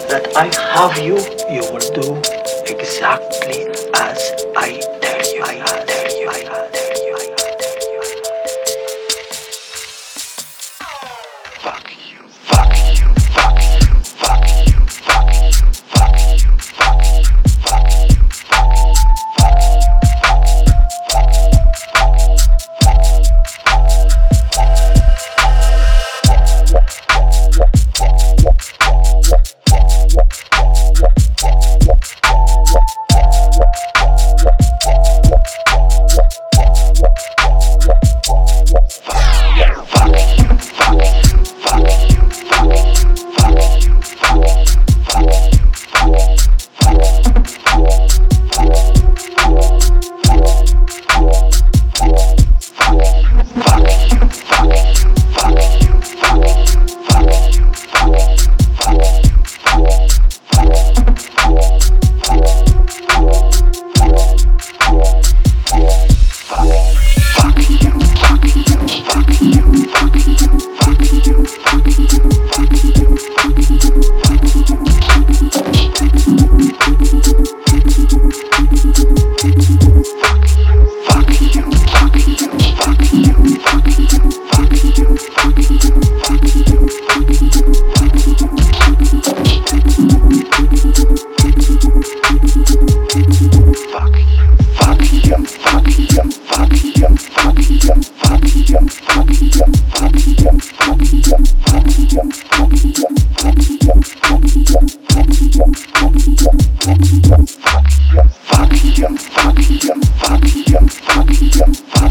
that I have you, you will do exactly as I tell you. I tell you. I tell you. I tell you. Fuck you. Fuck you. Fuck you. Fuck you. Fuck you. Fuck you. Fuck you. Fuck you. Fuck you.